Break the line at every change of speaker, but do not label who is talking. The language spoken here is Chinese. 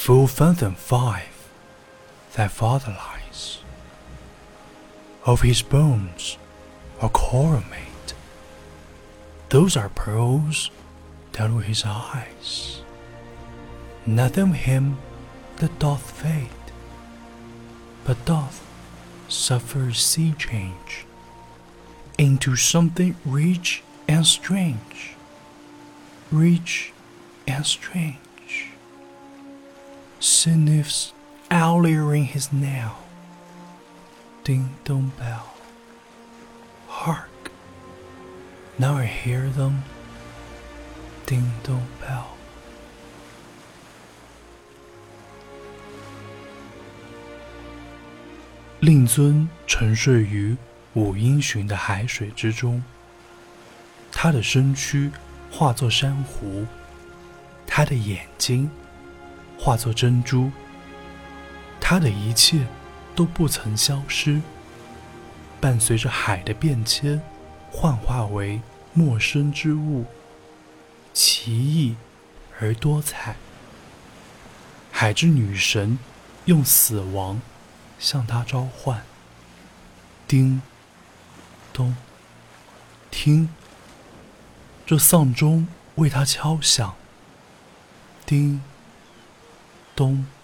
Full fathom 5 thy father lies. Of his bones are coral made. Those are pearls down to his eyes. Nothing of him that doth fade, but doth suffer sea change into something rich and strange, rich and strange. Sniffs owlier in his nail. Ding dong bell. Hark! Now I hear them. Ding dong bell. 令尊沉睡于五音旬的海水之中，他的身躯化作珊瑚，他的眼睛化作珍珠，他的一切都不曾消失，伴随着海的变迁，幻化为陌生之物，奇异而多彩。海之女神用死亡向他召唤。叮咚，听，这丧钟为他敲响。叮咚。